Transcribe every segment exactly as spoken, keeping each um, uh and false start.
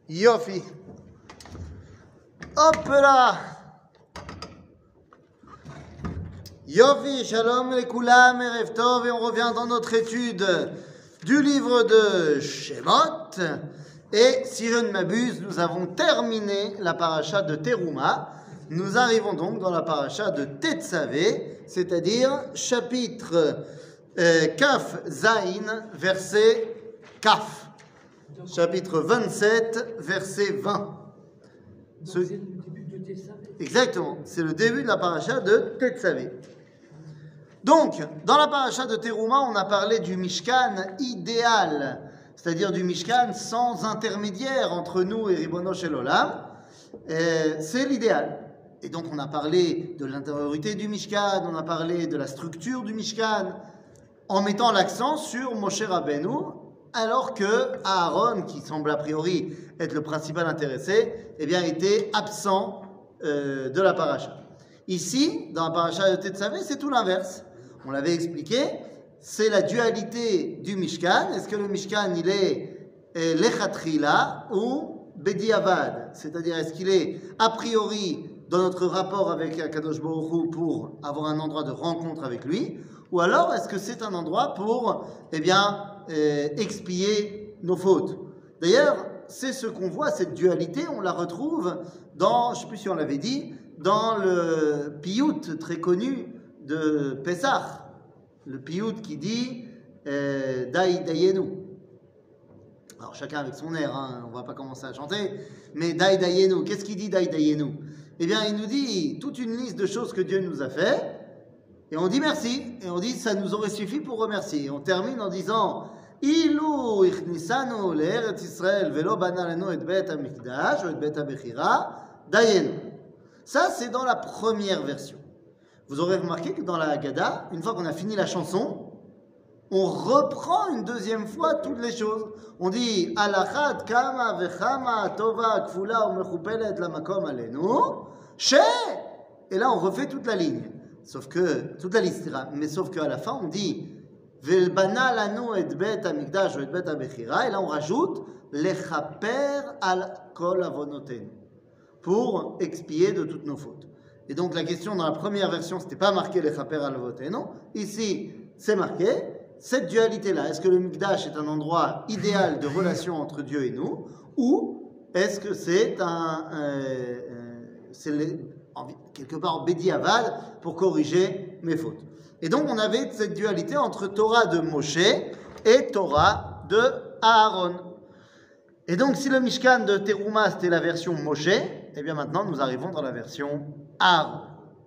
Yofi. Hop là. Yofi, shalom lekoulam, erev tov, et on revient dans notre étude du livre de Shemot. Et si je ne m'abuse, nous avons terminé la paracha de Teruma. Nous arrivons donc dans la paracha de Tetzavé, c'est-à-dire chapitre euh, Kaf Zain, verset Kaf. Chapitre vingt-sept, verset vingt. Ce... C'est le début de Tetzavé. Exactement, c'est le début de la paracha de Tetzavé. Donc, dans la paracha de Teruma, on a parlé du Mishkan idéal, c'est-à-dire du Mishkan sans intermédiaire entre nous et Ribono Shel Olam. C'est l'idéal. Et donc, on a parlé de l'intériorité du Mishkan, on a parlé de la structure du Mishkan, en mettant l'accent sur Moshe Rabbeinu, alors que Aaron, qui semble a priori être le principal intéressé, eh bien, était absent euh, de la paracha. Ici, dans la paracha de Tetzavé, c'est tout l'inverse. On l'avait expliqué, c'est la dualité du Mishkan. Est-ce que le Mishkan, il est eh, Lechatrila ou Bediavad? C'est-à-dire, est-ce qu'il est a priori dans notre rapport avec Akadosh Baruch Hu pour avoir un endroit de rencontre avec lui, ou alors est-ce que c'est un endroit pour eh bien, eh, expier nos fautes? D'ailleurs, c'est ce qu'on voit, cette dualité, on la retrouve dans, je ne sais plus si on l'avait dit, dans le piyut très connu de Pessah, le piyut qui dit eh, Dai Dayenu. Alors chacun avec son air, hein, on ne va pas commencer à chanter, mais Dai Dayenu, qu'est-ce qu'il dit Dai Dayenu? Eh bien, il nous dit toute une liste de choses que Dieu nous a fait, et on dit merci, et on dit ça nous aurait suffi pour remercier. Et on termine en disant Ilu ichnisanu le'eretz Israël velo bana lanu et bet hamikdash ou et bet habechira dayenu. Ça, c'est dans la première version. Vous aurez remarqué que dans la Haggadah, une fois qu'on a fini la chanson, on reprend une deuxième fois toutes les choses. On dit Alachat kama vechama tova kfula ou mechupelet lamakom alenu she. Et là, on refait toute la ligne. Sauf que, toute la liste, mais sauf qu'à la fin, on dit Velbana lanu et bet hamikdash ou et bet habechira. Et là, on rajoute lechaper al kol avonotenu, pour expier de toutes nos fautes. Et donc la question dans la première version, c'était pas marqué les chaper al avotenu, non. Ici, c'est marqué cette dualité-là. Est-ce que le Mikdash est un endroit idéal de relation entre Dieu et nous, ou est-ce que c'est un, euh, euh, c'est les, en, quelque part Bediavad pour corriger mes fautes. Et donc on avait cette dualité entre Torah de Moshe et Torah de Aaron. Et donc, si le Mishkan de Teruma, c'était la version Moshe, eh bien maintenant, nous arrivons dans la version Aaron.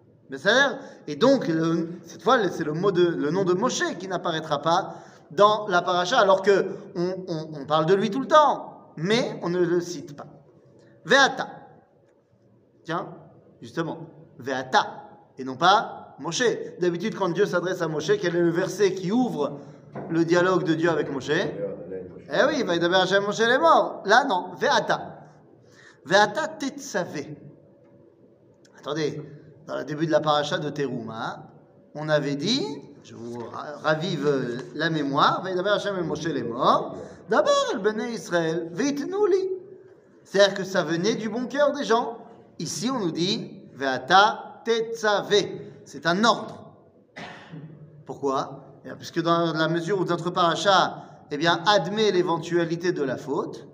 Et donc, le, cette fois, c'est le, mot de, le nom de Moshe qui n'apparaîtra pas dans la paracha, alors qu'on on, on parle de lui tout le temps, mais on ne le cite pas. Ve'ata. Tiens, justement, Ve'ata, et non pas Moshe. D'habitude, quand Dieu s'adresse à Moshe, quel est le verset qui ouvre le dialogue de Dieu avec Moshe? Eh oui, il va y avoir Hachem Moshe les morts. Là, non. Ve'ata. Ve'ata Tetzavé. Attendez, dans le début de la paracha de Teruma, on avait dit, je vous ravive la mémoire, va y avoir Hachem Moshe les morts. D'abord, el Bnei Israël, ve'itnu li. C'est-à-dire que ça venait du bon cœur des gens. Ici, on nous dit Ve'ata Tetzavé. C'est un ordre. Pourquoi? Puisque dans la mesure où notre paracha eh bien, admet l'éventualité de la faute,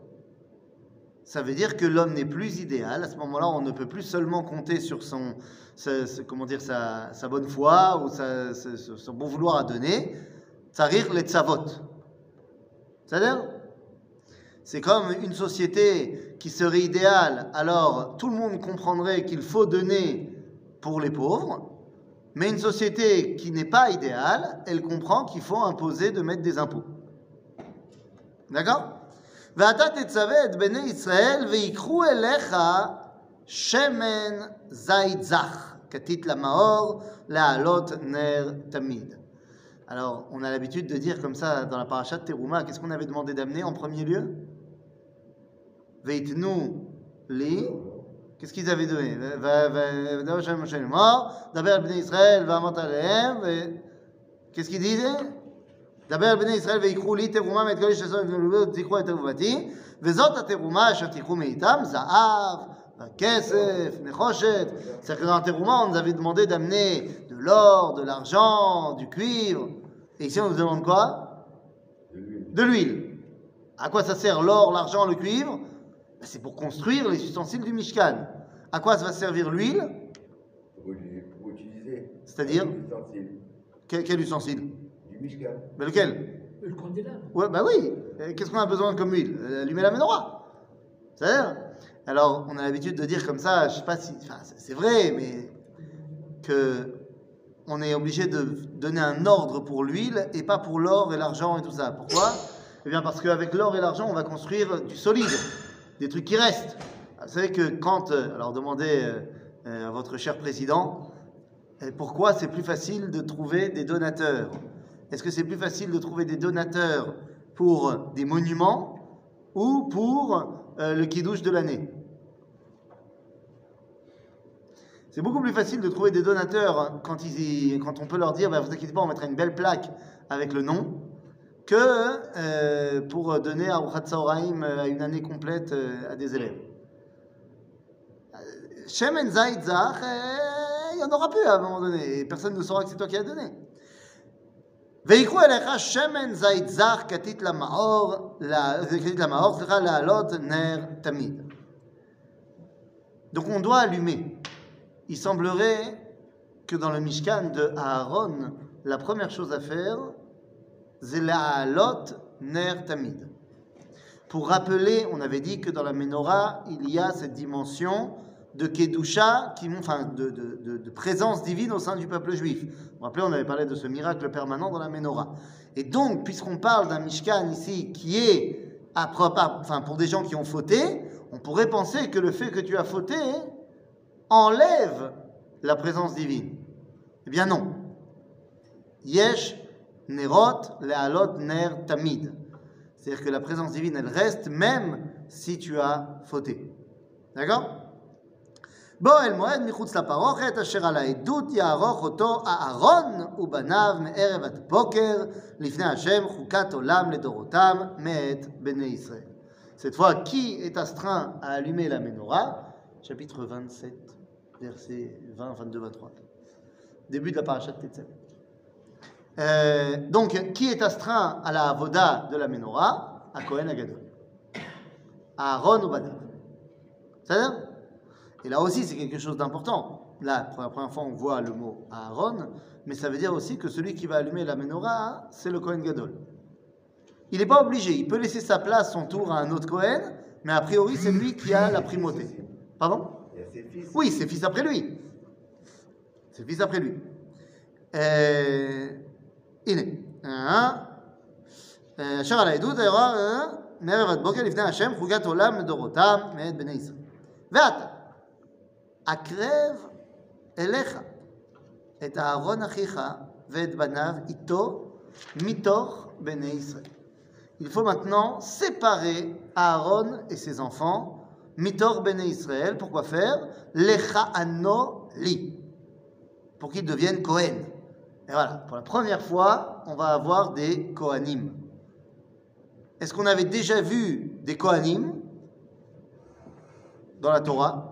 ça veut dire que l'homme n'est plus idéal. À ce moment-là, on ne peut plus seulement compter sur son, sa, sa, comment dire, sa, sa bonne foi ou sa, sa, son bon vouloir à donner. Tsarir le tzavot. C'est-à-dire, c'est comme une société qui serait idéale, alors tout le monde comprendrait qu'il faut donner pour les pauvres, mais une société qui n'est pas idéale, elle comprend qu'il faut imposer de mettre des impôts. D'accord? ואתה תצווה את בני ישראל ויקחו אליך שמן זית זך, כתית למאור, להעלות נר תמיד. Alors, on a l'habitude de dire comme ça dans la paracha de Teruma, qu'est-ce qu'on avait demandé d'amener en premier lieu? Veitnu li, qu'est-ce qu'ils avaient donné? D'abord, Bnei Israël va monter alehem, qu'est-ce qu'ils disaient? דבר על בני ישראל ויקחו לי תרומה מאת כל איש עשו ותקחו את תרומתי וזאת התרומה אשר תיקחו מאיתם, זהב, כסף, נחושת. C'est-à-dire que dans la terouma, on nous avait demandé d'amener de l'or, de l'argent, du cuivre. Et ici, on nous demande quoi? De l'huile. À quoi ça sert l'or, l'argent, le cuivre? Ben, c'est pour construire les ustensiles du Mishkan. À quoi ça va servir l'huile? Pour utiliser. C'est-à-dire quel, quel ustensile? Du Mishkan. Ben lequel? Le candélabre. Ouais, bah oui. Qu'est-ce qu'on a besoin comme huile? Allumer la menorah. C'est-à-dire? Alors, on a l'habitude de dire comme ça, je sais pas si, enfin, c'est vrai, mais que on est obligé de donner un ordre pour l'huile et pas pour l'or et l'argent et tout ça. Pourquoi? Eh bien, parce qu'avec l'or et l'argent, on va construire du solide, des trucs qui restent. Vous savez que quand, alors demandez à votre cher président, pourquoi c'est plus facile de trouver des donateurs? Est-ce que c'est plus facile de trouver des donateurs pour des monuments ou pour euh, le kidouche de l'année? C'est beaucoup plus facile de trouver des donateurs quand, ils, quand on peut leur dire bah, vous inquiétez pas, on mettra une belle plaque avec le nom, que euh, pour donner à Urchat Tzaoraim à une année complète euh, à des élèves. Shemen Zayt Zach, il n'y en aura plus à un moment donné, et personne ne saura que c'est toi qui as donné. ויקחו אליך שמן זית זך כתית למאור, כתית למאור, סליחה, להעלות נר תמיד. Donc on doit allumer. Il semblerait que dans le Mishkan de Aaron, la première chose à faire, c'est l'aalot ner tamid. Pour rappeler, on avait dit que dans la menorah, il y a cette dimension de Kedusha, qui, enfin, de, de, de, de présence divine au sein du peuple juif. Vous vous rappelez, on avait parlé de ce miracle permanent dans la menorah. Et donc, puisqu'on parle d'un Mishkan ici qui est à propre, enfin, pour des gens qui ont fauté, on pourrait penser que le fait que tu as fauté enlève la présence divine. Eh bien non. Yesh nerot le'alot ner tamid. C'est-à-dire que la présence divine, elle reste même si tu as fauté. D'accord? בו אל מועד מחוץ לפרוכת, אשר על העדות יערוך אותו אהרון ובניו מערב עד בוקר, לפני השם חוקת עולם לדורותם מאת בני ישראל. Cette fois, qui est astreint à allumer la menorah? Chapitre vingt-sept, versets vingt, vingt-deux, vingt-trois. Début de la parashat Tetzaveh. Euh, donc, qui est astreint à la avoda de la menorah? À Kohen Agadol. Aaron ubanav. C'est-à-dire? Et là aussi, c'est quelque chose d'important. Là, pour la première fois, on voit le mot Aaron, mais ça veut dire aussi que celui qui va allumer la menorah, c'est le Kohen Gadol. Il n'est pas obligé, il peut laisser sa place, son tour à un autre Kohen, mais a priori, c'est lui qui a la primauté. Pardon? Il y a ses fils. Oui, c'est fils après lui. C'est fils après lui. הנה. אשר על העדות היורה מערב עד בוקר לפני השם חוקת עולם לדורותם מאת בני ישראל. ואתה הקרב אליך את אהרון אחיך ואת בניו איתו מתוך בני ישראל. Il faut maintenant séparer Aaron et ses enfants mitor bene Israël. Pourquoi faire? Lecha ano li. Pour qu'ils deviennent Kohen. Et voilà, pour la première fois, on va avoir des Kohanim. Est-ce qu'on avait déjà vu des Kohanim dans la Torah?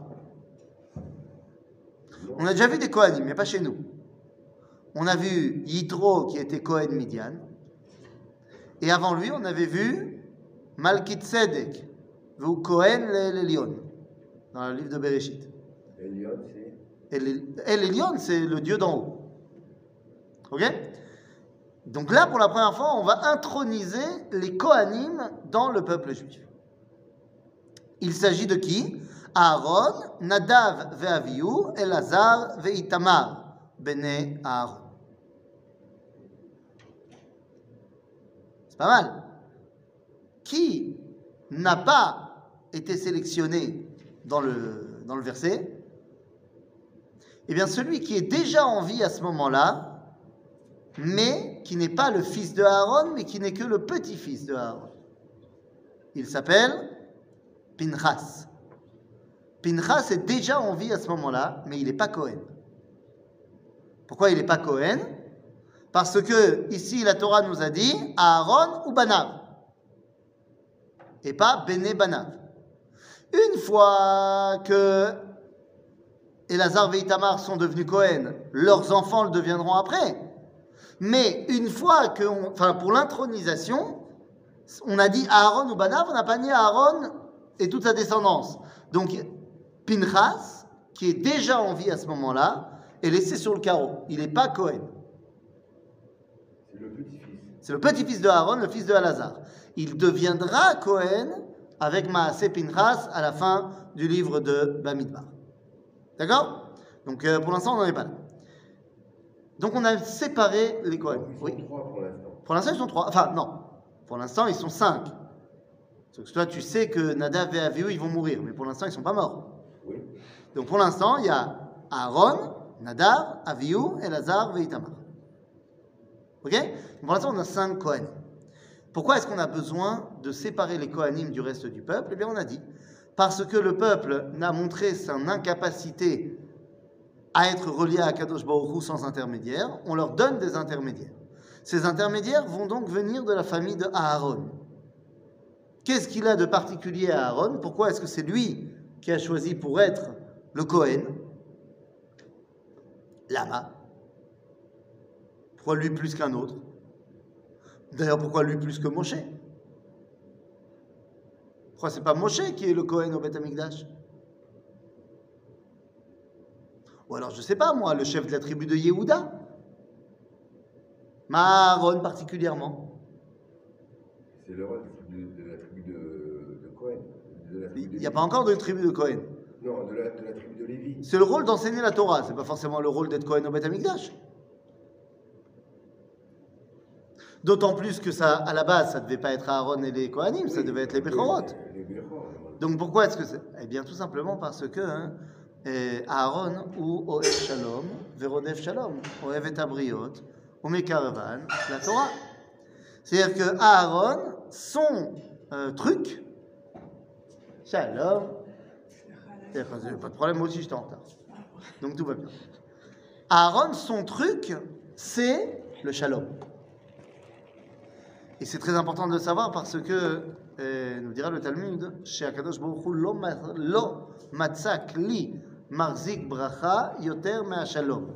On a déjà vu des Kohanim, mais pas chez nous. On a vu Yitro qui était Kohen Midian. Et avant lui, on avait vu Malkit Tzedek, ou Kohen l'Elion, dans le livre de Bereshit. Elion, c'est. El Elion, c'est le Dieu d'en haut. Ok? Donc là, pour la première fois, on va introniser les Kohanim dans le peuple juif. Il s'agit de qui? Aaron, Nadav ve'Avihu, Elazar ve'itamar, bene Aaron. C'est pas mal. Qui n'a pas été sélectionné dans le, dans le verset? Eh bien, celui qui est déjà en vie à ce moment-là, mais qui n'est pas le fils de Aaron, mais qui n'est que le petit-fils de Aaron. Il s'appelle Pinchas. Pinchas est déjà en vie à ce moment-là, mais il n'est pas Kohen. Pourquoi il n'est pas Kohen? Parce que ici la Torah nous a dit Aaron ou Banav. et pas Bene Banav. Une fois que Elazar et Itamar sont devenus Cohen, leurs enfants le deviendront après. Mais une fois que, on, enfin pour l'intronisation, on a dit Aaron ou Banav, on n'a pas dit Aaron et toute sa descendance. Donc Pinchas, qui est déjà en vie à ce moment-là, est laissé sur le carreau. Il n'est pas Cohen. C'est le petit-fils. C'est le petit-fils de Aaron, le fils de Elazar. Il deviendra Cohen avec Maaseh Pinchas à la fin du livre de Bamidbar. D'accord? Donc euh, pour l'instant, on n'en est pas là. Donc on a séparé les Cohen. Ils sont Oui. trois pour l'instant. Pour l'instant, ils sont trois. Enfin, non. Pour l'instant, ils sont cinq. Parce que toi, tu sais que Nadav et Avihu, ils vont mourir. Mais pour l'instant, ils ne sont pas morts. Oui. Donc pour l'instant, il y a Aaron, Nadav, Avihu, Elazar et Itamar. Ok? Pour l'instant, on a cinq Kohanim. Pourquoi est-ce qu'on a besoin de séparer les Kohanim du reste du peuple? Eh bien, on a dit, parce que le peuple n'a montré son incapacité à être relié à Kadosh Baruch Hu sans intermédiaire, on leur donne des intermédiaires. Ces intermédiaires vont donc venir de la famille de Aaron. Qu'est-ce qu'il a de particulier à Aaron? Pourquoi est-ce que c'est lui qui a choisi pour être le Kohen? Lama. Pourquoi lui plus qu'un autre? D'ailleurs, pourquoi lui plus que Moshe? Pourquoi c'est pas Moshe qui est le Kohen au Beth Amikdash? Ou alors, je sais pas, moi, le chef de la tribu de Yehuda? Aaron particulièrement. C'est le rôle de, de la tribu de, de Cohen. De la tribu de Il n'y a pas encore de tribu de Kohen. Non, de la, de la tribu de Lévi. C'est le rôle d'enseigner la Torah, c'est pas forcément le rôle d'être Kohen au Beth Amikdash. D'autant plus que ça, à la base, ça devait pas être Aaron et les Kohanim, oui, ça devait être les Bechorot. Les Bechorot. Donc pourquoi est-ce que c'est? Eh bien, tout simplement parce que hein, eh, Aaron ou Oev Shalom, Verodef Shalom, Oev et Abriot, ou Mekaravan, la Torah. C'est-à-dire que Aaron, son euh, truc, Shalom, pas de problème, moi aussi j'étais en retard. Donc tout va bien. Aaron, son truc, c'est le Shalom. Et c'est très important de le savoir parce que, euh, nous dira le Talmud, chez Akadosh Baruch Hu, lo matzak li marzik bracha yoter mea shalom.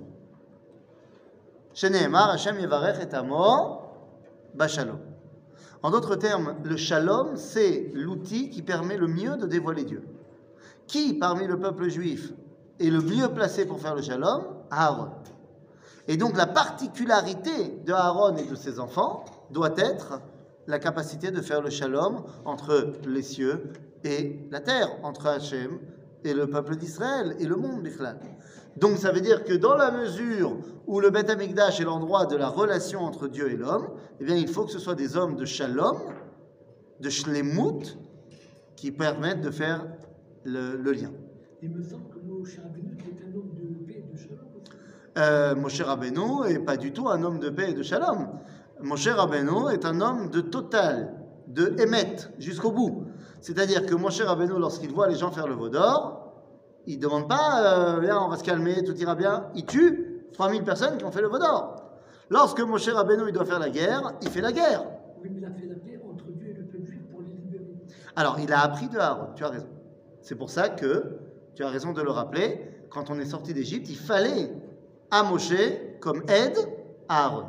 Sheneemar, Hashem yevarech et amo bashalom. En d'autres termes, le shalom, c'est l'outil qui permet le mieux de dévoiler Dieu. Qui, parmi le peuple juif, est le mieux placé pour faire le shalom? Aaron. Et donc la particularité de Aaron et de ses enfants doit être la capacité de faire le shalom entre les cieux et la terre, entre Hachem et le peuple d'Israël et le monde bichlal. Donc ça veut dire que dans la mesure où le Beth Amikdash est l'endroit de la relation entre Dieu et l'homme, eh bien il faut que ce soit des hommes de shalom, de shlemut, qui permettent de faire le, le lien. Il me semble que Moshe Rabbeinu est un homme de paix et de shalom aussi. Euh, Moshe Rabbeinu n'est pas du tout un homme de paix et de shalom. Moshe Rabbeinu est un homme de total, de émet, jusqu'au bout. C'est-à-dire que Moshe Rabbeinu, lorsqu'il voit les gens faire le veau d'or, il ne demande pas euh, « Viens, on va se calmer, tout ira bien ». Il tue trois mille personnes qui ont fait le veau d'or. Lorsque Moshe Rabbeinu il doit faire la guerre, il fait la guerre. Oui, mais il a fait la paix entre Dieu et le peuple juif pour les libérer. Alors, il a appris de Aaron, tu as raison. C'est pour ça que, tu as raison de le rappeler, quand on est sorti d'Égypte, il fallait à Moshe comme aide à Aaron.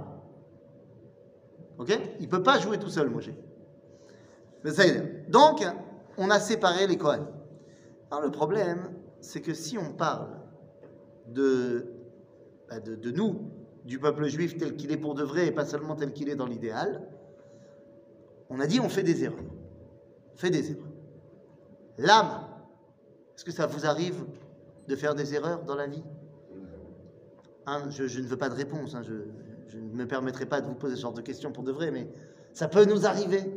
Ok? Il ne peut pas jouer tout seul, Moshe. Mais ça y est. Donc, on a séparé les Kohen. Alors, le problème, c'est que si on parle de, de, de nous, du peuple juif tel qu'il est pour de vrai et pas seulement tel qu'il est dans l'idéal, on a dit on fait des erreurs. On fait des erreurs. L'âme, est-ce que ça vous arrive de faire des erreurs dans la vie? Hein, je, je ne veux pas de réponse, hein, je, je ne me permettrai pas de vous poser ce genre de questions pour de vrai, mais ça peut nous arriver.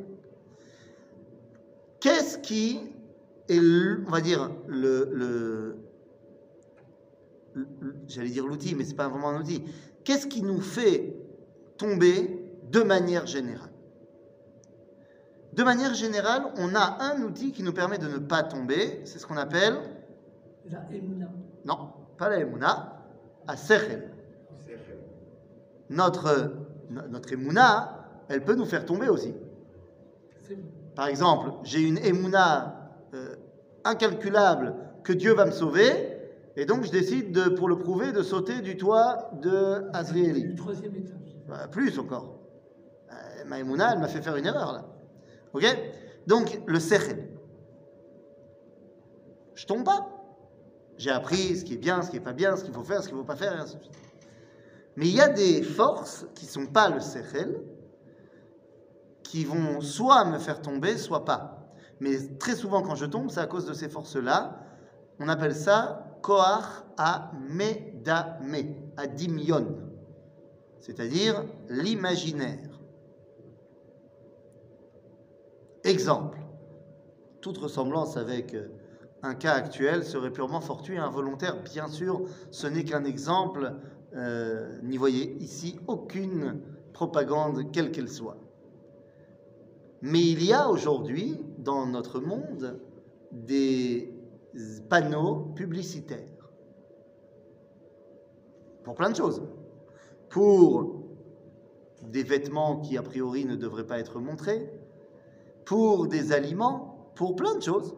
Qu'est-ce qui est, on va dire, le, le, le j'allais dire l'outil, mais ce n'est pas vraiment un outil. Qu'est-ce qui nous fait tomber de manière générale? De manière générale, on a un outil qui nous permet de ne pas tomber, c'est ce qu'on appelle... La Emouna. Non, pas la Emouna, à Sechel. Notre, notre Emouna, elle peut nous faire tomber aussi. C'est bon. par exemple, j'ai une émouna euh, incalculable que Dieu va me sauver, et donc je décide, de, pour le prouver, de sauter du toit de Azrieli. Le troisième étage. Bah, plus encore. Euh, ma émouna, elle m'a fait faire une erreur là. Ok? Donc, le sechel. Je tombe pas. J'ai appris ce qui est bien, ce qui n'est pas bien, ce qu'il faut faire, ce qu'il ne faut pas faire, et ainsi de suite. Mais il y a des forces qui ne sont pas le sechel, qui vont soit me faire tomber, soit pas. Mais très souvent, quand je tombe, c'est à cause de ces forces-là. On appelle ça koach ha-medame, adimion, c'est-à-dire l'imaginaire. Exemple. Toute ressemblance avec un cas actuel serait purement fortuit et involontaire. Bien sûr, ce n'est qu'un exemple. Euh, n'y voyez ici aucune propagande, quelle qu'elle soit. Mais il y a aujourd'hui, dans notre monde, des panneaux publicitaires. Pour plein de choses. Pour des vêtements qui, a priori, ne devraient pas être montrés. Pour des aliments. Pour plein de choses.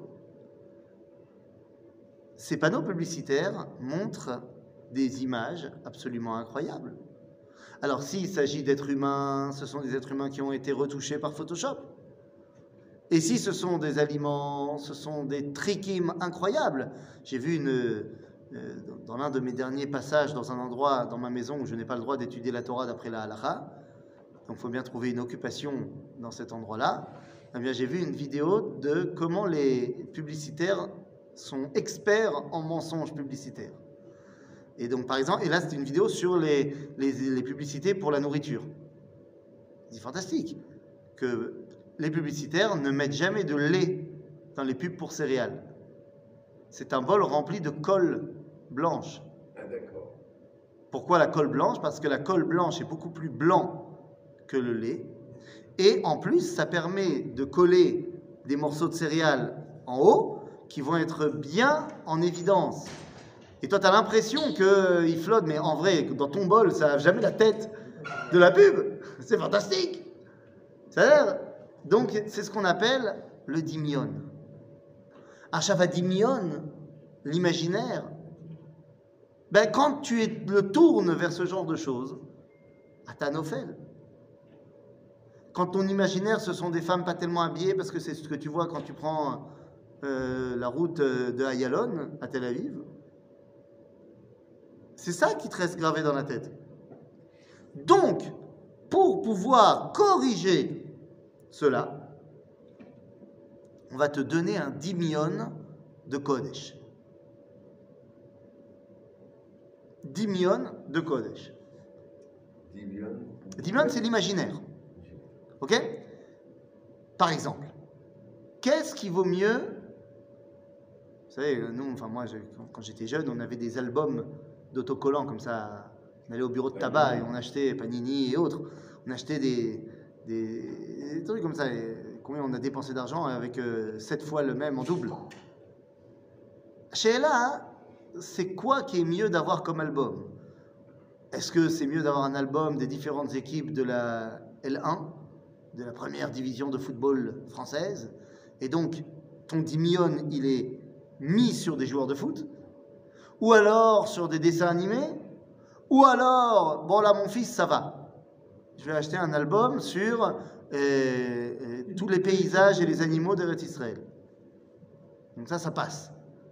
Ces panneaux publicitaires montrent des images absolument incroyables. Alors, s'il s'agit d'êtres humains, ce sont des êtres humains qui ont été retouchés par Photoshop. Et si ce sont des aliments, ce sont des trikim incroyables. J'ai vu une, euh, dans l'un de mes derniers passages dans un endroit dans ma maison où je n'ai pas le droit d'étudier la Torah d'après la halakha, donc il faut bien trouver une occupation dans cet endroit-là. Eh bien, j'ai vu une vidéo de comment les publicitaires sont experts en mensonges publicitaires. Et donc, par exemple, et là, c'est une vidéo sur les, les, les publicités pour la nourriture. C'est fantastique que les publicitaires ne mettent jamais de lait dans les pubs pour céréales. C'est un bol rempli de colle blanche. Ah, d'accord. Pourquoi la colle blanche? Parce que la colle blanche est beaucoup plus blanc que le lait. Et en plus, ça permet de coller des morceaux de céréales en haut qui vont être bien en évidence. Et toi, tu as l'impression qu'il flotte, mais en vrai, dans ton bol, ça n'a jamais la tête de la pub. C'est fantastique. C'est-à-dire, donc, c'est ce qu'on appelle le dimion. Achava dimion, l'imaginaire, ben, quand tu le tournes vers ce genre de choses, à Tanophel. Quand ton imaginaire, ce sont des femmes pas tellement habillées, parce que c'est ce que tu vois quand tu prends euh, la route de Ayalon à Tel Aviv, c'est ça qui te reste gravé dans la tête. Donc, pour pouvoir corriger cela, on va te donner un dimion de Kodesh. Dimion de Kodesh. Dimion. Dimion, c'est l'imaginaire. Ok? Par exemple, qu'est-ce qui vaut mieux? Vous savez, nous, enfin moi, quand j'étais jeune, on avait des albums d'autocollants comme ça. On allait au bureau de tabac et on achetait Panini et autres. On achetait des, des, des trucs comme ça. Et combien on a dépensé d'argent avec euh, sept fois le même en double. Chez Ella, c'est quoi qui est mieux d'avoir comme album? Est-ce que c'est mieux d'avoir un album des différentes équipes de la L un, de la première division de football française, et donc ton dimion, il est mis sur des joueurs de foot, ou alors sur des dessins animés, ou alors, bon là mon fils ça va, je vais acheter un album sur euh, euh, tous les paysages et les animaux d'Eretz Israël. Donc ça, ça passe.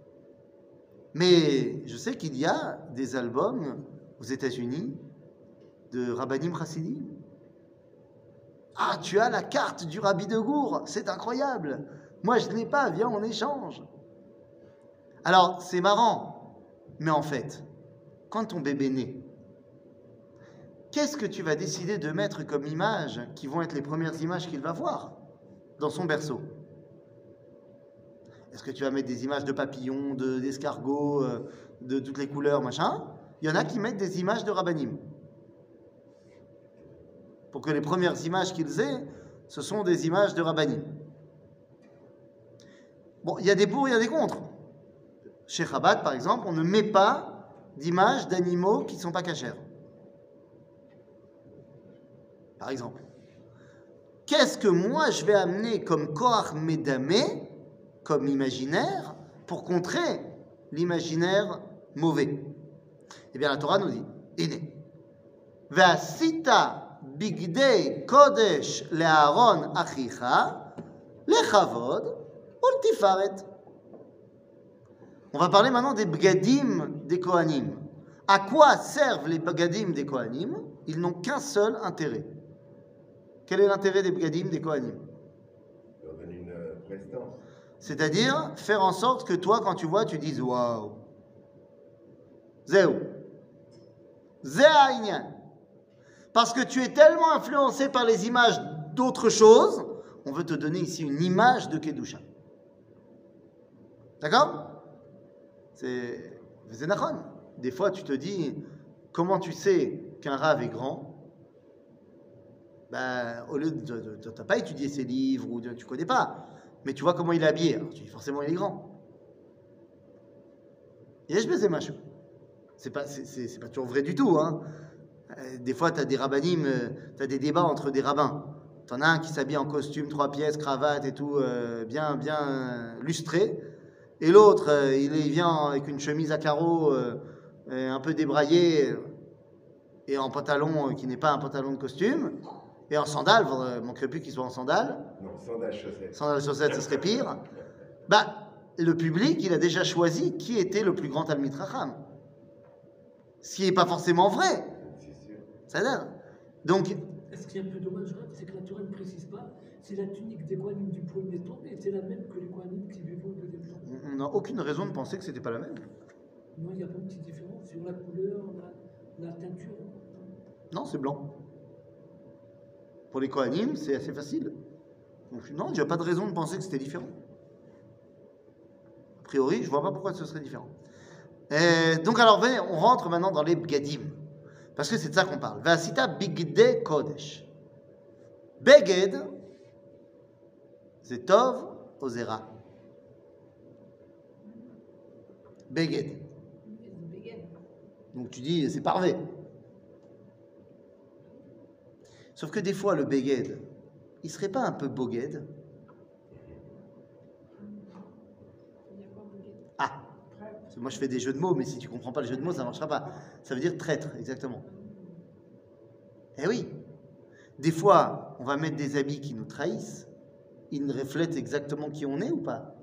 Mais je sais qu'il y a des albums aux États-Unis de Rabbanim Chassidim. Ah, tu as la carte du Rabbi de Gour, c'est incroyable. Moi, je ne l'ai pas, viens, on échange. Alors, c'est marrant, mais en fait, quand ton bébé naît, qu'est-ce que tu vas décider de mettre comme images qui vont être les premières images qu'il va voir dans son berceau? Est-ce que tu vas mettre des images de papillons, de, d'escargots, euh, de toutes les couleurs, machin? Il y en a qui mettent des images de Rabbanim. Pour que les premières images qu'ils aient, ce sont des images de Rabbanim. Bon, il y a des pour, il y a des contre. Chez Chabad, par exemple, on ne met pas d'images d'animaux qui ne sont pas cachers. Par exemple. qu'est-ce que moi je vais amener comme Koach Medamé, comme imaginaire, pour contrer l'imaginaire mauvais? Eh bien, la Torah nous dit, Iné, Ve'asita bigdei kodesh le'aron achicha, lechavod, ultifaret. On va parler maintenant des bgadim des Kohanim. À quoi servent les bgadim des Kohanim? Ils n'ont qu'un seul intérêt. Quel est l'intérêt des bgadim des Kohanim? Leur donner une euh, prestance. C'est-à-dire faire en sorte que toi, quand tu vois, tu dises waouh. Zéou. Zéaïnian. Parce que tu es tellement influencé par les images d'autres choses, on veut te donner ici une image de Kedusha. D'accord? C'est c'est nachon. Des fois, tu te dis, comment tu sais qu'un rave est grand? Ben, au lieu de, tu n'as pas étudié ses livres ou de, tu connais pas, mais tu vois comment il est habillé. Alors, tu dis forcément il est grand. Et je baisais macho. C'est pas, c'est, c'est, c'est pas toujours vrai du tout. Hein. Des fois, tu as des rabbinim, tu as des débats entre des rabbins. Tu en as un qui s'habille en costume, trois pièces, cravate et tout, euh, bien, bien euh, lustré. Et l'autre, euh, il, il vient avec une chemise à carreaux, euh, un peu débraillée, et en pantalon euh, qui n'est pas un pantalon de costume, et en sandales, il ne manquerait plus qu'il soit en sandales. Non, sandales chaussettes. Sandales chaussettes, ce serait pire. Bah, le public, il a déjà choisi qui était le plus grand Talmid Chacham. Ce qui n'est pas forcément vrai. C'est sûr. Ça donne. Donc, Ce qui est un peu dommage, hein, c'est que la Torah ne précise pas, c'est la tunique des Kohanim du premier temps, et c'est la même que les Kohanim qui vivent au deuxième temps. on n'a aucune raison de penser que ce n'était pas la même. Non, il n'y a pas une petite différence sur la couleur, la, la teinture. Non, c'est blanc. Pour les Kohanim, c'est assez facile. Donc, non, il n'y a pas de raison de penser que c'était différent. A priori, je ne vois pas pourquoi ce serait différent. Et donc, alors, venez, on rentre maintenant dans les Bgadim. Parce que c'est de ça qu'on parle. Vasita Bigde Kodesh. Beged, c'est Tov Ozera. Beged. Donc tu dis, c'est parfait. Sauf que des fois, le Beged, il serait pas un peu Boged? Ah, parce que moi je fais des jeux de mots, mais si tu comprends pas le jeu de mots, ça ne marchera pas. Ça veut dire traître, exactement. Eh oui. Des fois, on va mettre des habits qui nous trahissent. Ils reflètent exactement qui on est ou pas?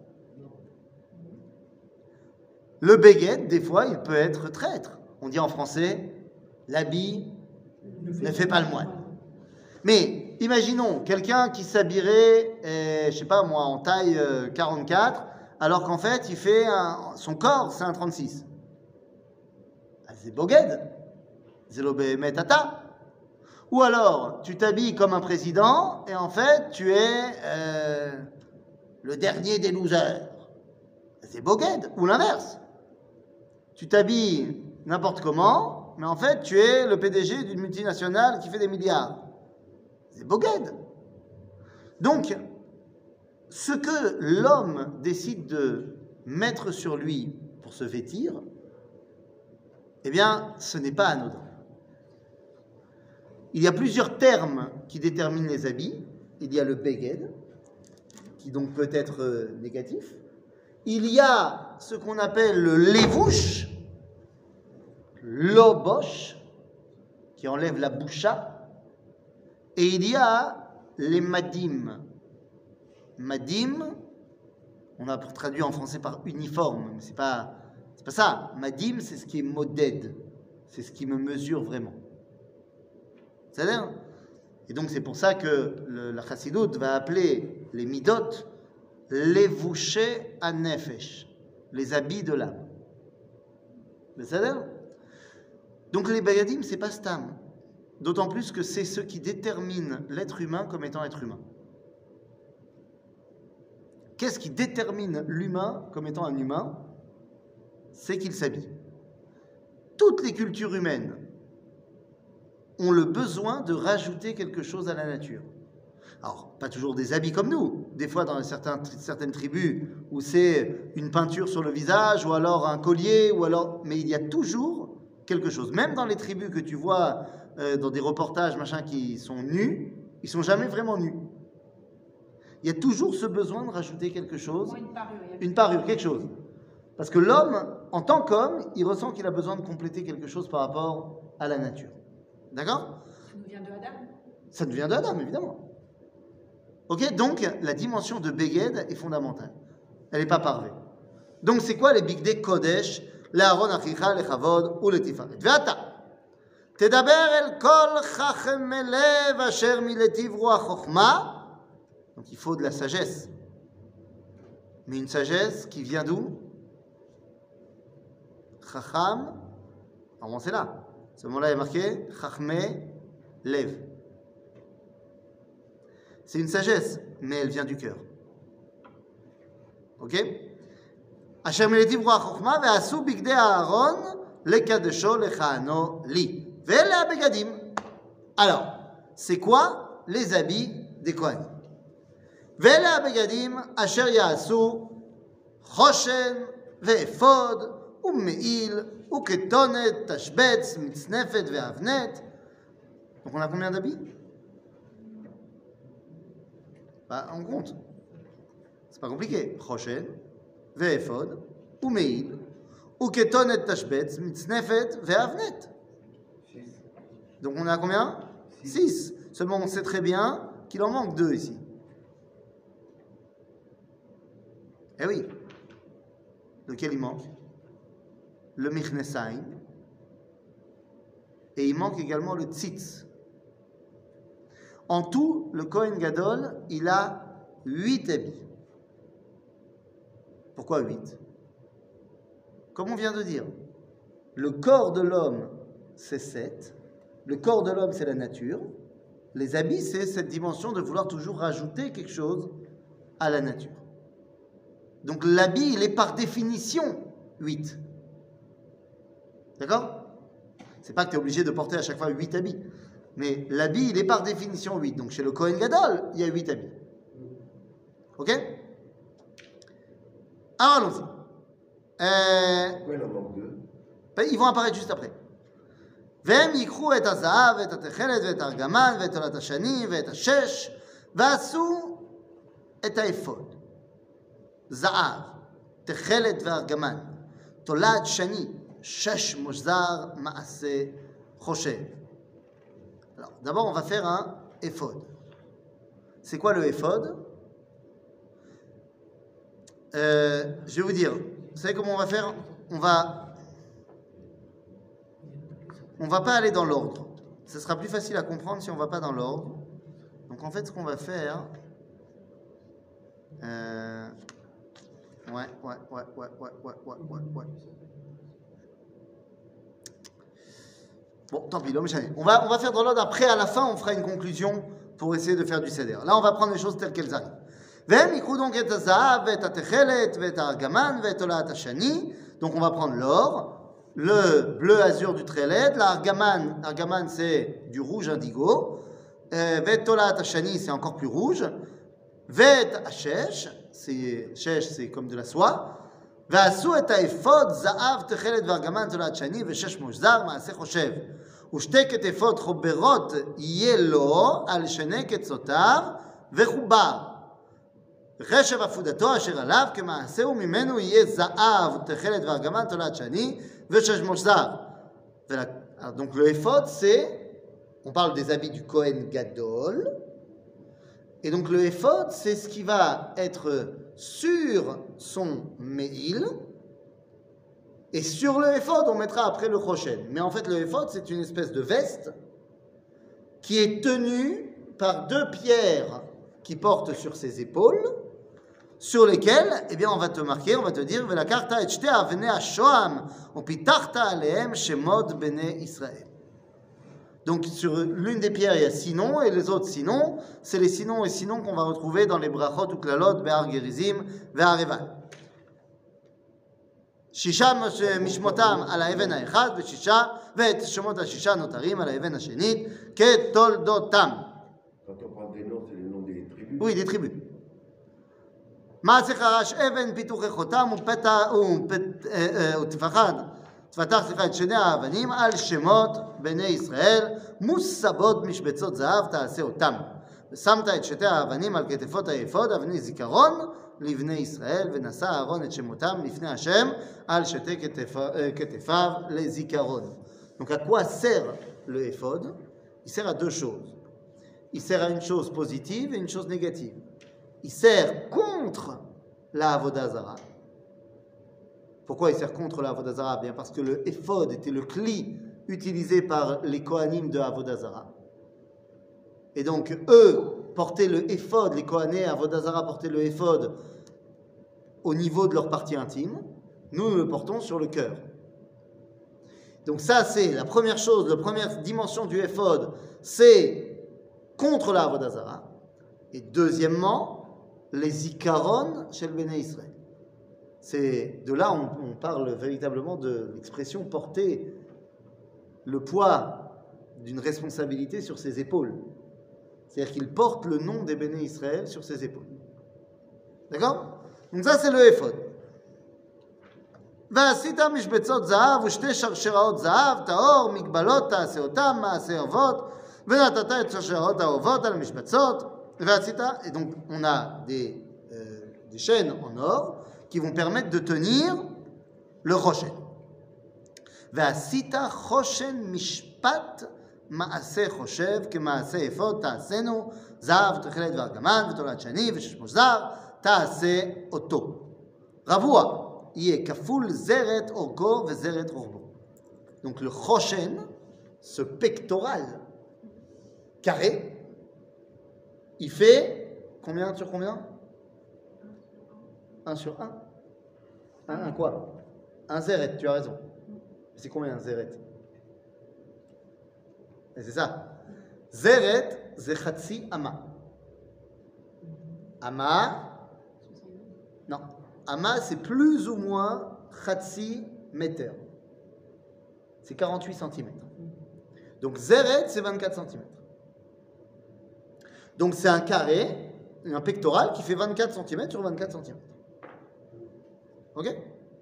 Le Beged, des fois, il peut être traître. On dit en français, l'habit ne fait pas le moine. Mais imaginons quelqu'un qui s'habillerait, euh, je sais pas moi, en taille euh, quarante-quatre, alors qu'en fait, il fait un, son corps, c'est un trente-six. Ah, c'est Boged. C'est l'obémet tata. Ou alors, tu t'habilles comme un président, et en fait, tu es euh, le dernier des losers. C'est Boged. Ou l'inverse. Tu t'habilles n'importe comment, mais en fait, tu es le P D G d'une multinationale qui fait des milliards. C'est Boged. Donc, ce que l'homme décide de mettre sur lui pour se vêtir, eh bien, ce n'est pas anodin. Il y a plusieurs termes qui déterminent les habits. Il y a le Beged, qui donc peut être euh, négatif. Il y a ce qu'on appelle le Levouche, l'Obosh, qui enlève la boucha. Et il y a les Madim. Madim, on a traduit en français par uniforme, mais c'est pas, c'est pas ça. Madim, c'est ce qui est modèle, c'est ce qui me mesure vraiment. C'est-à-dire, et donc c'est pour ça que le, la Chassidoute va appeler les midot les vouchés à nefesh, les habits de l'âme. C'est-à-dire, donc les bagadim, c'est pas stam. D'autant plus que c'est ce qui détermine l'être humain comme étant être humain. Qu'est-ce qui détermine l'humain comme étant un humain? C'est qu'il s'habille. Toutes les cultures humaines ont le besoin de rajouter quelque chose à la nature. Alors, pas toujours des habits comme nous. Des fois, dans certains, certaines tribus, où c'est une peinture sur le visage, ou alors un collier, ou alors... Mais il y a toujours quelque chose. Même dans les tribus que tu vois euh, dans des reportages, machin, qui sont nus, ils sont jamais vraiment nus. Il y a toujours ce besoin de rajouter quelque chose, Ou une parure. il y a une parure, quelque chose. Parce que l'homme, en tant qu'homme, il ressent qu'il a besoin de compléter quelque chose par rapport à la nature. D'accord? Ça nous vient de Adam. Ça nous vient de Adam, évidemment. Ok? Donc, la dimension de Beged est fondamentale. Elle n'est pas parvée. Donc, c'est quoi les Bigdei Kodesh? L'Aaron Achicha, le Chavod ou le Tifaret. Ve'ata. Tedaber el kol chachem lev asher miletiv ruach chochma. Donc, il faut de la sagesse. Mais une sagesse qui vient d'où? Chacham. Alors, c'est là. Ce mot-là est marqué Chachme Lev. C'est une sagesse, mais elle vient du cœur. Ok? Asher miletiv ruach chochma ve'asu bigdei Aaron lekadesho lechano li. Ve'ele habegadim. Alors, c'est quoi les habits des Kohanim? Ve'ele habegadim asher ya'asu choshen ve'efod u'me'il u'ketonet tashbetz mitznefet ve'avnet. Donc on a combien d'habits? Bah, on compte. C'est pas compliqué. Choshen ve'efod u'me'il u'ketonet tashbetz mitznefet ve'avnet. Donc on a combien? Six. Seulement on sait très bien qu'il en manque deux ici. Eh oui. Lequel il manque? Le Michnesaim. Et il manque également le Tzitz. En tout, le Kohen Gadol, il a huit habits. Pourquoi huit? Comme on vient de dire, le corps de l'homme, c'est sept. Le corps de l'homme, c'est la nature. Les habits, c'est cette dimension de vouloir toujours rajouter quelque chose à la nature. Donc l'habit, il est par définition huit. D'accord? C'est pas que tu es obligé de porter à chaque fois huit habits. Mais l'habit, il est par définition huit. Donc chez le Kohen Gadol, il y a huit habits. Ok? Alors allons-y. Euh, Pourquoi il en manque deux? ben, ils vont apparaître juste après. והם ייקחו את הזהב ואת התכלת ואת הארגמן ואת תולת השני ואת השש ועשו את האפוד. זהב, תכלת וארגמן, תולת שני, שש מוזר מעשה חושב. Alors, d'abord, on va faire un éphod. C'est quoi le éphod? euh, Je vais vous dire. Vous savez comment on va faire? On va... On ne va pas aller dans l'ordre. Ce sera plus facile à comprendre si on ne va pas dans l'ordre. Donc en fait, ce qu'on va faire... Euh... Ouais, ouais, ouais, ouais, ouais, ouais, ouais, ouais, ouais. Bon, tant pis, l'homme jamais. On va, on va faire dans l'ordre. Après, à la fin, on fera une conclusion pour essayer de faire du seder. Là, on va prendre les choses telles qu'elles arrivent. Donc on va prendre l'or, le bleu azur du trelet, l'argaman, argaman c'est du rouge indigo, vetolat hashani c'est encore plus rouge, vet hashesh, c'est shesh c'est comme de la soie, ועשו את האפוד זהב תכלת וארגמן תולת שני ושש מוזר מעשה חושב ושתי כתפות חוברות יהיה לו על שני קצותיו וחובר וחשב עפודתו אשר עליו כמעשהו ממנו יהיה זהב תכלת וארגמן תולת שני ושש מוזר. Donc le éphod c'est, on parle des habits du Kohen Gadol, et donc le éphod c'est ce qui va être sur son me'il, et sur le éphod on mettra après le choshen. Mais en fait le éphod c'est une espèce de veste qui est tenue par deux pierres qui portent sur ses épaules, sur lesquelles, eh bien, on va te marquer, on va te dire, Velakarta et shte avnei hashoam, upitachta alehem shemot bnei Israël. Donc sur l'une des pierres il y a six noms et les autres six noms, c'est les six noms et six noms qu'on va retrouver dans les brachot ou klalot be'ar gerizim ve'ar eval. Shisha mishmotam al haeven haechad ve'shisha ve'et shemot hashisha notarim al haeven hashenit ketoldotam. Quand on parle des noms, c'est les noms des tribus. Oui, des tribus. מעשה חרש אבן פיתוחי חותם ותפחד תפתח סליחה את שני האבנים על שמות בני ישראל מוסבות משבצות זהב תעשה אותם שמת את שתי האבנים על כתפות האפוד, אבני זיכרון לבני ישראל, ונשא אהרון את שמותם לפני השם על שתי כתפיו לזיכרון. Donc à quoi sert le éphod? Il sert à deux choses. Il sert à une chose positive et une chose négative. Il sert contre la Avodah Zara. Pourquoi il sert contre la Avodah Zara? Bien parce que le éphod était le cli utilisé par les Kohanim de Avodah Zara. Et donc, eux portaient le éphod, les Kohanés Avodah Zara portaient le éphod au niveau de leur partie intime. Nous, nous le portons sur le cœur. Donc ça, c'est la première chose, la première dimension du éphod, c'est contre la Avodah Zara. Et deuxièmement, les zikaron chez le Béné Israël. C'est de là on, on parle véritablement de l'expression porter le poids d'une responsabilité sur ses épaules. C'est-à-dire qu'il porte le nom des Béné Israël sur ses épaules. D'accord? Donc ça, c'est le éphod. ועשית משבצות זהב ושתי שרשראות זהב, טהור, מגבלות תעשה אותם, מעשה אבות, ונתת את שרשראות האהובות על המשבצות, ועשית, et donc on a des, euh, des chaînes en or qui vont permettre de tenir le choshen. ועשית חושן משפט מעשה חושב כמעשה אפוד תעשינו, זהב תכלת וארגמן ותולת שני וששמו זר, תעשה אותו. רבוע. יהיה כפול זרת אורכו וזרת רוחבו. Donc le choshen, ce pectoral carré, il fait combien sur combien? un sur un. Un, un quoi? Un zeret, tu as raison. C'est combien un zeret? Et c'est ça. Zeret, c'est chatsi ama. Ama, non. Ama, c'est plus ou moins Khatsi meter. C'est quarante-huit centimètres. Donc Zeret, c'est vingt-quatre centimètres. Donc c'est un carré, un pectoral qui fait vingt-quatre centimètres sur vingt-quatre centimètres. Ok?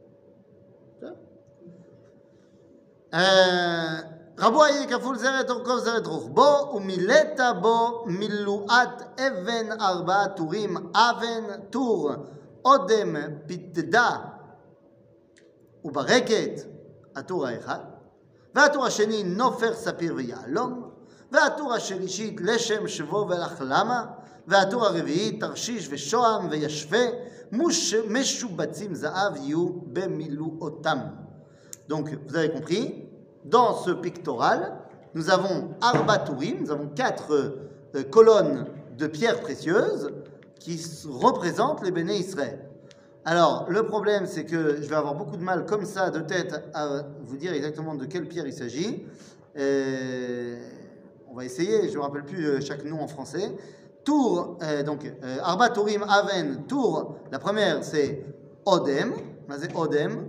רבו יהיה כפול זרת אורכו וזרת רוחבו, ומילאת בו מילואת אבן ארבעה טורים, אבן טור אודם פתדה וברקת, הטור האחד, והטור השני נופר ספיר ויהלום, והטור השלישית לשם שבו ולחלמה, והטור הרביעי תרשיש ושוהם וישווה, משובצים זהב יהיו במילואותם. Donc, vous avez compris, dans ce pectoral, nous avons arba tourim, nous avons quatre euh, colonnes de pierres précieuses qui représentent les Béné Israël. Alors, le problème, c'est que je vais avoir beaucoup de mal, comme ça, de tête, à vous dire exactement de quelle pierre il s'agit. Euh, on va essayer, je ne me rappelle plus chaque nom en français. Tour, euh, donc, euh, arba tourim, aven, tour, la première, c'est odem. C'est odem.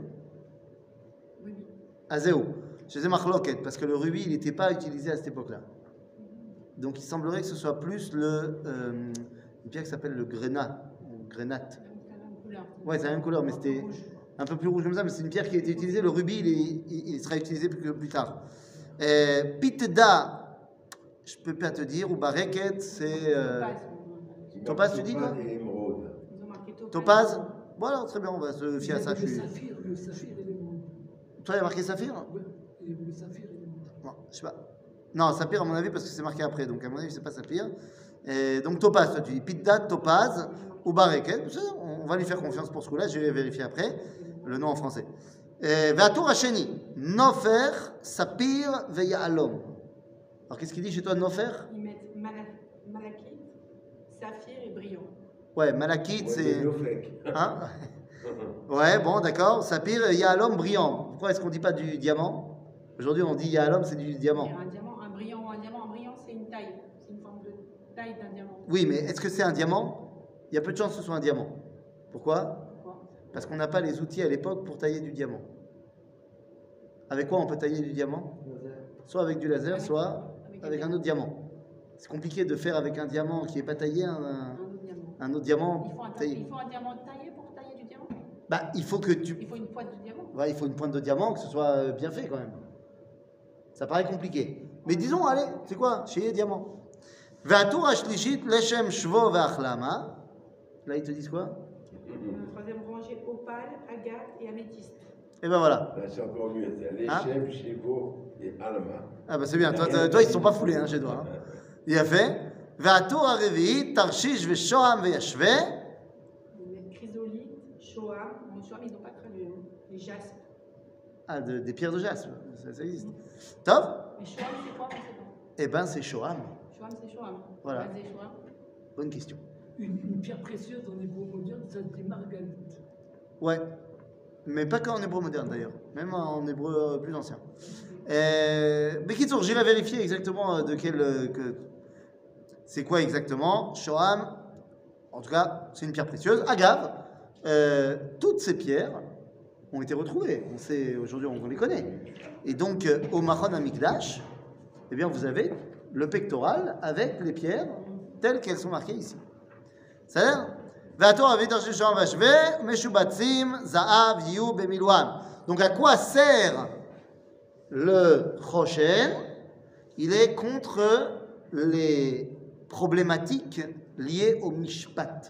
Azéo. Je faisais marloquette, parce que le rubis, il n'était pas utilisé à cette époque-là. Donc, il semblerait que ce soit plus le, euh, une pierre qui s'appelle le grenat, ou grenat. Ouais, c'est la même couleur, mais c'était un peu plus rouge comme ça, mais c'est une pierre qui a été utilisée. Le rubis, il, est, il, il sera utilisé plus, plus tard. Euh, Piteda, je ne peux pas te dire, ou bareket, c'est... Euh, topaz, tu dis quoi? Topaz. Voilà, très bien, on va se fier à ça. Le saphir, le saphir et l'émeraude. Toi, il y a marqué saphir? Oui, le saphir et l'émeraude. Bon, je sais pas. Non, saphir, à mon avis, parce que c'est marqué après, donc à mon avis, c'est pas saphir. Et donc topaz, toi tu dis pitda, topaz ou bareket. On va lui faire confiance pour ce coup-là, je vais vérifier après le nom en français. Ve'atur hasheni, nofer, sapir ve'ya'alom. Alors qu'est-ce qu'il dit chez toi, nofer? Ils mettent malachite, saphir et brillant. Ouais, malachite, Ouais, c'est. Nofek. Hein? Ouais, bon, d'accord. Sapir, ya'alom, brillant. Pourquoi est-ce qu'on dit pas du diamant? Aujourd'hui, on dit ya'alom, c'est du diamant. Et un diamant, un brillant ou un diamant, un brillant, c'est une taille. C'est une forme de taille d'un diamant. Oui, mais est-ce que c'est un diamant? Il y a peu de chances que ce soit un diamant. Pourquoi? Pourquoi? Parce qu'on n'a pas les outils à l'époque pour tailler du diamant. Avec quoi on peut tailler du diamant? Soit avec du laser, Avec- soit avec avec un un autre diamant. C'est compliqué de faire avec un diamant qui n'est pas taillé un, Un autre diamant. un autre diamant Il faut un, ta- taillé. il faut un diamant taillé pour tailler du diamant. Bah, il faut que tu... Il faut une pointe de diamant. Ouais, il faut une pointe de diamant, que ce soit euh, bien fait quand même. Ça paraît compliqué. Mais disons, allez, c'est quoi? Chez diamant. Ve'atur hashlichit leshem shvo ve'achlama. Là, ils te disent quoi? La troisième rangée, opale, agate et améthyste. Et ben voilà. Là, c'est encore mieux. C'est les Hein? chefs, Chevo et Alma. Ah ben c'est bien. Toi, toi, toi, ils ne sont pas foulés hein, chez toi. Hein. Il a fait. Ve'atur harevi'it tarshish ve'shoam ve'yashve. Les chrysolite, shoam. Bon, shoam, ils n'ont pas traduit. Hein. Les jaspes. Ah, de- des pierres de jaspe. Ça, ça existe. Top. Mais shoam, c'est quoi? On sait pas. Eh ben c'est shoam. Shoam, c'est shoam. Voilà. Vas-y, shoam. Bonne question. Une, une pierre précieuse en hébreu moderne, ça se dit marganite. Ouais. Mais pas qu'en hébreu moderne d'ailleurs. Même en hébreu plus ancien. Euh, mais qui j'irai vérifier exactement euh, de quel. euh, que... C'est quoi exactement? Shoam. En tout cas, c'est une pierre précieuse. Agave. Euh, toutes ces pierres ont été retrouvées. On sait aujourd'hui, on les connaît. Et donc, euh, au Machon Amikdash, eh bien, vous avez le pectoral avec les pierres telles qu'elles sont marquées ici. C'est-à-dire, donc, à quoi sert le Choshen? Il est contre les problématiques liées au Mishpat.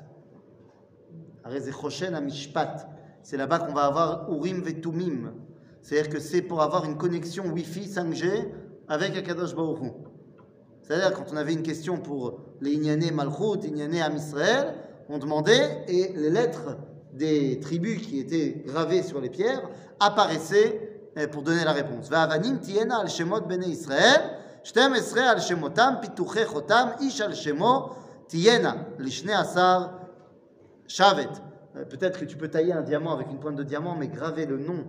C'est là-bas qu'on va avoir Urim et Tumim. C'est-à-dire que c'est pour avoir une connexion Wi-Fi cinq G avec Akadosh Baruch Hu. C'est-à-dire quand on avait une question pour les Inyané Malchut, Inyané Am Israël, on demandait et les lettres des tribus qui étaient gravées sur les pierres apparaissaient pour donner la réponse. Va'avanim tiena al shemot bnei Israël, shtem esrei al shemotam, pituche chotam, ish al shemo tiena, lishne asar shavet. Peut-être que tu peux tailler un diamant avec une pointe de diamant, mais graver le nom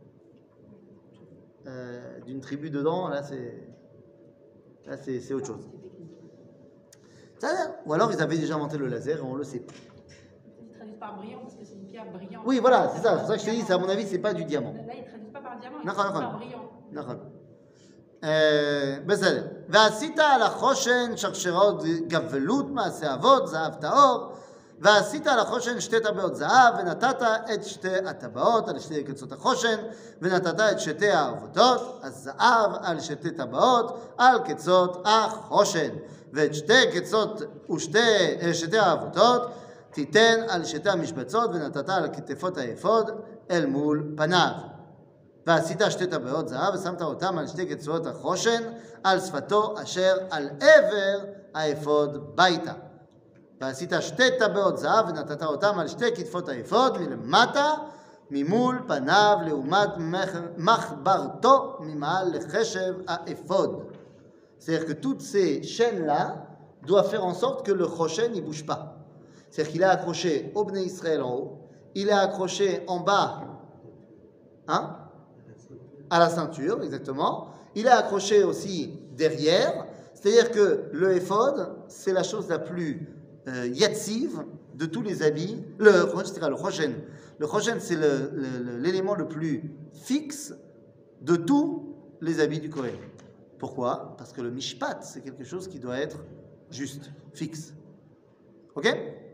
euh, d'une tribu dedans, là c'est là c'est, c'est autre chose. Ça, ou alors ils avaient déjà inventé le laser et on le sait pas. Ils traduisent par brillant parce que c'est une pierre brillante. Oui, voilà, c'est ça. C'est pour ça que je te dis, c'est, à mon avis, c'est pas du diamant. Là, ils traduisent pas par diamant, ils D'accord, traduisent d'accord. par brillant. נכון. בסדר. ועשית על החושן שרשרות גבלות מעשה אבות, זהב טהור, ועשית על החושן שתי טבעות זהב, ונתת את שתי הטבעות על שתי קצות החושן, ונתת את שתי הערבותות, הזהב על שתי טבעות, על קצות החושן, ואת שתי קצות ושתי שתי הערבותות, תיתן על שתי המשבצות, ונתת על כתפות האפוד אל מול פניו. ועשית שתי טבעות זהב, ושמת אותם על שתי קצוות החושן, על שפתו אשר על עבר האפוד ביתה. ועשית שתי טבעות זהב, ונתת אותם על שתי כתפות האפוד מלמטה, ממול פניו, לעומת מחברתו ממעל לחשב האפוד. C'est-à-dire que toutes ces chaînes-là doivent faire en sorte que le choshen ne bouge pas. C'est-à-dire qu'il est accroché au Bnei Israël en haut, il est accroché en bas, hein, à la ceinture, exactement. Il est accroché aussi derrière. C'est-à-dire que le éphod, c'est la chose la plus euh, yatsive de tous les habits. Le, le choshen. Le choshen, c'est le, le, l'élément le plus fixe de tous les habits du Kohen. Pourquoi? Parce que le mishpat, c'est quelque chose qui doit être juste, fixe. Ok?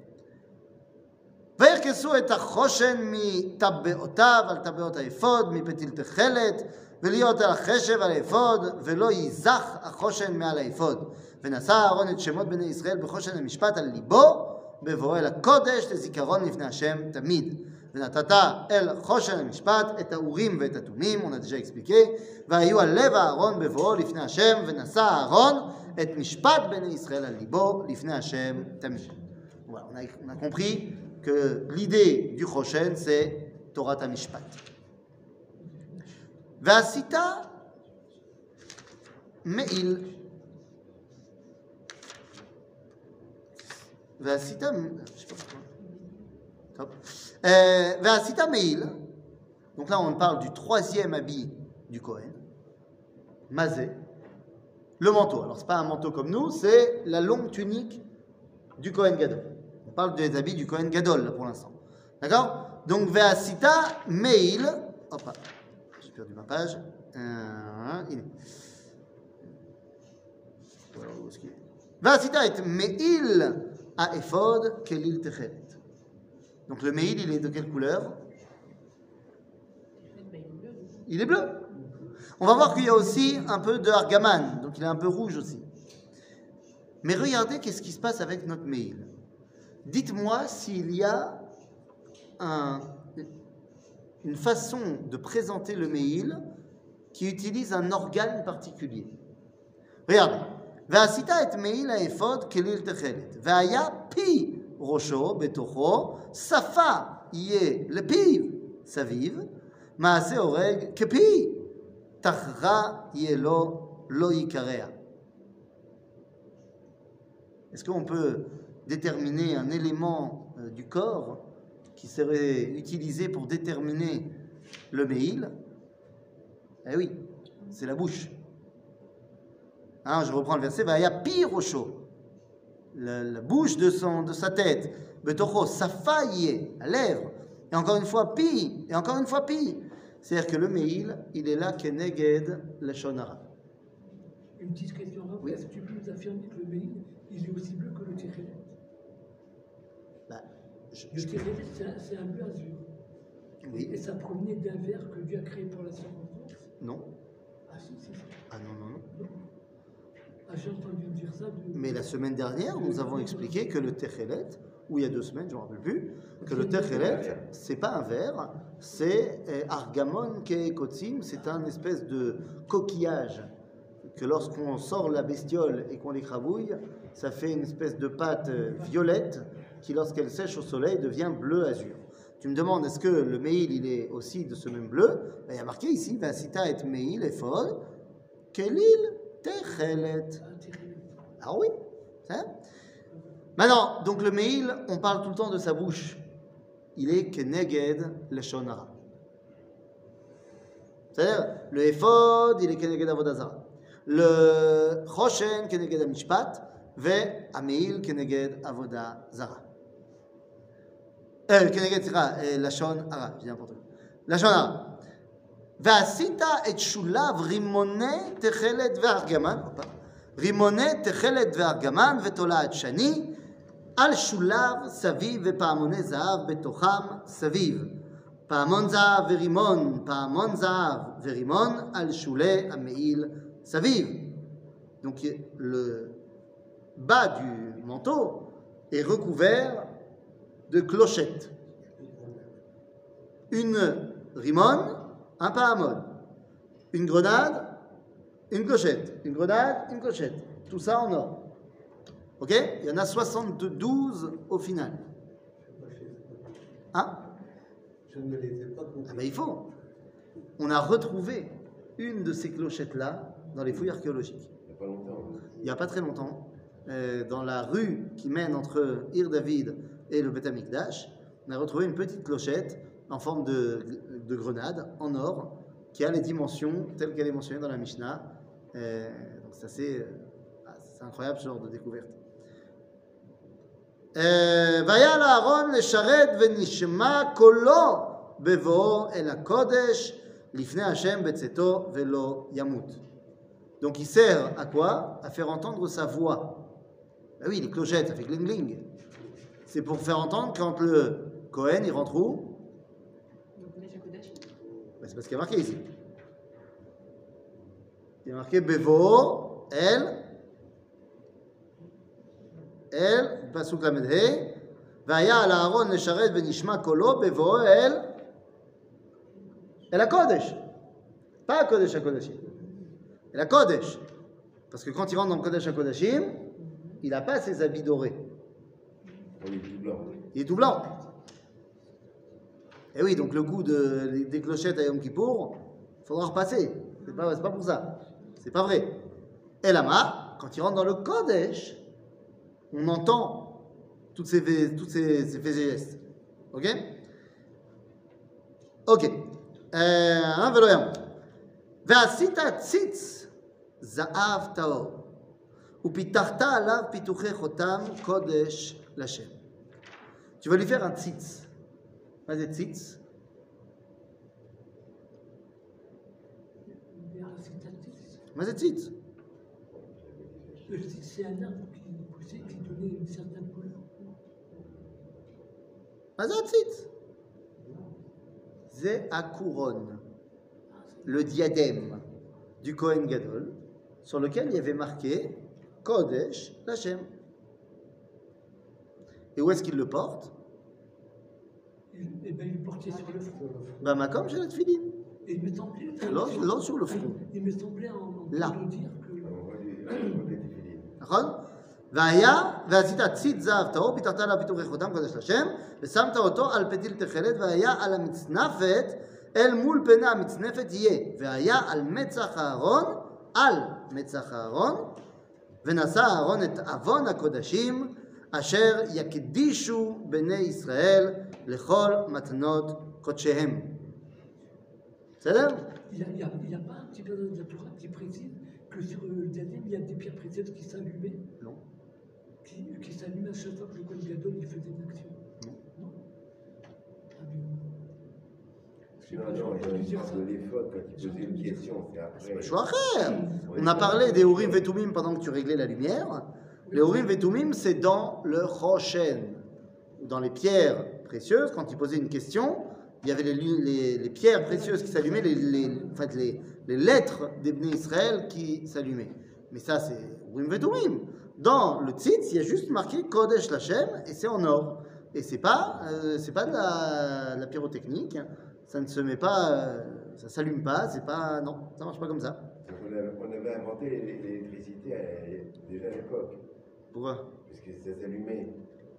וירכסו את החושן מטבעותיו על טבעות האפוד, מפתיל תכלת, ולהיות על החשב על האפוד, ולא ייזך החושן מעל האפוד. ונשא אהרון את שמות בני ישראל בחושן המשפט על ליבו, בבואו אל הקודש לזיכרון לפני השם תמיד. ונתת אל חושן המשפט את האורים ואת התומים, on a déjà expliqué, והיו על לב אהרון בבואו לפני השם, ונשא אהרון את משפט בני ישראל על ליבו לפני השם תמיד. Voilà, on a, on a compris que l'idée du Choshen, c'est Torah Mishpat. Vasita Meil. Vasita, je sais pas pourquoi. Top. Euh, Vasita Meil. Donc là, on parle du troisième habit du Kohen, Mazé, le manteau. Alors, ce n'est pas un manteau comme nous, c'est la longue tunique du Kohen Gadol. On parle des habits du Kohen Gadol, là, pour l'instant. D'accord? Donc, Ve'asita Meil. Hop, j'ai perdu ma page. Euh, il est. Voilà, où est-ce qu'il est? Ve'asita et Meil à Ephod Kelil Techeret. Donc, le Meil, il est de quelle couleur? Il est bleu. On va voir qu'il y a aussi un peu de Argaman. Donc, il est un peu rouge aussi. Mais regardez qu'est-ce qui se passe avec notre mail. Dites-moi s'il y a un, une façon de présenter le mail qui utilise un organe particulier. Regardez. ועשית את מעיל האפוד כליל תכלת, והיה פי ראשו בתוכו, שפה יהיה לפיו סביב, מעשה הורג כפי, תחרה יהיה לו, לא יקרע. Est-ce qu'on peut déterminer un élément euh, du corps qui serait utilisé pour déterminer le méhil? Eh oui, c'est la bouche. Hein, je reprends le verset. Va y a pire au chaud. La, la bouche de, son, de sa tête. Betocho, sa faille, la lèvre. Et encore une fois, pi. Et encore une fois, pi. C'est-à-dire que le méhil, il est là, keneged le shonara. Une petite question là. Oui. Est-ce que tu peux nous affirmer que le méhil, il est aussi bleu que le térélet? Bah, je, Le je, térélet, c'est un, c'est un bleu azur. oui. Et ça provenait d'un verre que Dieu a créé pour la circonstance. Non. Ah si, si, si. Ah non, non, non. Non. Ah, j'ai entendu dire ça. De... Mais la semaine dernière, nous avons expliqué que le techelet, ou il y a deux semaines, je ne me rappelle plus, que le techelet, c'est pas un verre, c'est eh, argamon kekotzim, c'est un espèce de coquillage que lorsqu'on sort la bestiole et qu'on l'écrabouille, ça fait une espèce de pâte euh, violette qui, lorsqu'elle sèche au soleil, devient bleu azur. Tu me demandes, est-ce que le meil, il est aussi de ce même bleu? Ben, il y a marqué ici, Vasita et meil efod, kelil techelet. Ah oui, c'est ça. Maintenant, donc le meil, on parle tout le temps de sa bouche. Il est keneged leshon hara. C'est-à-dire, le ephod, il est keneged avodah zara. Le choshen, keneged hamishpat, ve ameil, keneged avodah zara. Euh, keneged, c'est leshon hara, je dis n'importe quoi. Leshon hara. ועשית את שולב רימוני תכלת וארגמן, רימוני תכלת וארגמן ותולעת שני, על שולב סביב ופעמוני זהב בתוכם סביב. פעמון זהב ורימון, פעמון זהב ורימון על שולי המעיל סביב. Donc le bas du manteau est recouvert de clochettes. Une rimone, un pahamon, une grenade, une clochette, une grenade, une clochette. Tout ça en or. Ok? Il y en a soixante-douze au final. Hein? Je ne les ai pas comptés. Ah ben il faut. On a retrouvé une de ces clochettes-là dans les fouilles archéologiques. Il n'y a pas longtemps. hein. Il n'y a pas très longtemps, euh, dans la rue qui mène entre Ir David et le Beth Amikdash, on a retrouvé une petite clochette en forme de, de grenade en or qui a les dimensions telles qu'elle est mentionnée dans la Mishnah. Euh, donc c'est assez, euh, c'est incroyable ce genre de découverte. והיה לאהרון לשרת ונשמע קולו בבואו אל הקודש לפני השם בצאתו ולא ימות. Donc il sert à quoi? À faire entendre sa voix. Ah oui, les clochettes, ça fait gling gling. C'est pour faire entendre quand le Kohen il rentre où? Ben, c'est parce qu'il y a marqué ici. Il y a marqué Bevo, El, El, Pasuk Lamed He, Vaya al Aaron Nesharet Venishma Kolo, Bevo, El, El HaKodesh. Pas Kodesh HaKodashim. El HaKodesh. Parce que quand il rentre dans le Kodesh HaKodashim, il n'a pas ses habits dorés. On est tout blanc. Il est tout blanc. Et oui, donc le coup de, des clochettes à Yom Kippour, il faudra repasser. C'est pas, c'est pas pour ça. C'est pas vrai. Et là-bas, quand il rentre dans le Kodesh, on entend toutes ces, toutes ces, ces faits et gestes. Ok? Ok. Un vélo et un. Ve'asita tzitz za'av ta'or. Upitarta alav pituche chotam kodesh l'Hashem. Tu vas lui faire un tzitz. Pas des tzitz. Mais c'est tzitz. Le tzitz, c'est un arbre qui poussait, qui donnait une certaine couleur. Mais c'est tzitz. C'est à couronne. Le diadème du Kohen Gadol, sur lequel il y avait marqué Kodesh l'Hachem. Et où est-ce qu'il le porte? Il, eh ben, il le portait sur le front. Bah, Makom, j'ai la tefilin. Et il me semblait. Là, là, sur le front. Il me semblait en, en Là. de dire que. On voit les- on voit les tefilin. נכון? והיה, ועשית ציד זהב טהור, פיתחת עליו פיתוחי חותם קודש לשם, ושמת אותו על פתיל תכלת, והיה על המצנפת, אל מול פני המצנפת יהיה, והיה על מצח הארון, על מצח הארון, ונשא הארון את עוון הקודשים, אשר יקדישו בני ישראל לכל מתנות קודשיהם. בסדר? Il n'y a, il y a- il y a pas un petit peu de la Torah qui précise que sur le diadème, il y a des pierres précieuses qui s'allumaient, Non. qui, qui s'allumaient à chaque fois que le Kohen Gadol il faisait une action. Non. Non. Ah, mais- Je sais Non, pas, non, j'aurais il pas dû y a dire une ça. sorte de l'éphod quand il posait une question, c'est après. משהו אחר. On a parlé des Urim Vetumim pendant que tu réglais la lumière. Les Urim Vetumim, c'est dans le Choshen, ou dans les pierres précieuses. Quand il posait une question, il y avait les, lu- les- les pierres précieuses qui s'allumaient, les, les, en fait, les, les lettres des Bnei Israël qui s'allumaient. Mais ça, c'est Urim Vetumim. Dans le Tzitz, il y a juste marqué Kodesh Lachem, et c'est en or. Et c'est pas, euh, c'est pas de la, la pyrotechnique. Ça ne se met pas, euh, ça s'allume pas. C'est pas, non, ça marche pas comme ça. Donc on avait, on avait inventé l'électricité à- déjà à l'époque, Pourquoi? parce que ça s'allumait.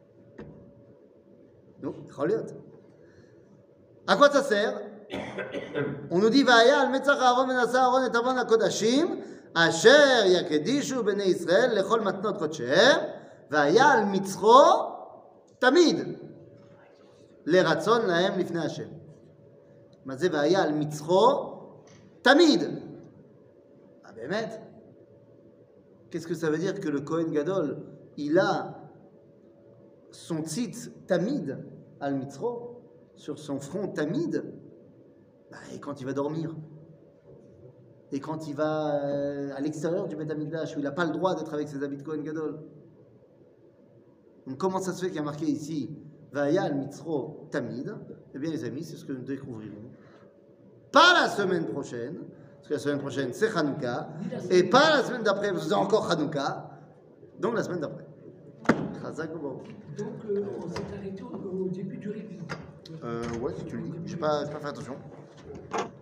Non, Choliot. À quoi ça sert? On nous dit Vaya al metzach Aaron menasa Aaron et avon hakodashim asher yakedishu bnei Israël lechol matnot kodshehem vaya al mitzro tamid leratzon lahem lifnei Hashem. מה זה והיה על מצחו תמיד? Ah, באמת? Qu'est-ce que ça veut dire que le Kohen Gadol, il a son tzitz tamid al mitzro sur son front tamid, bah, et quand il va dormir, et quand il va euh, à l'extérieur du Beth Amikdash, où il n'a pas le droit d'être avec ses habits de Kohen Gadol. Donc comment ça se fait qu'il y a marqué ici Vaya al mitzro tamid? Eh bien les amis, c'est ce que nous découvrirons. Pas la semaine prochaine, parce que la semaine prochaine c'est Hanouka, et pas la semaine d'après, parce que c'est encore Hanouka, donc la semaine d'après. Chazak Baruch. Donc, euh, on s'est arrêté au, au début du révision. Euh, ouais, si tu le dis. J'ai pas, j'ai pas fait attention.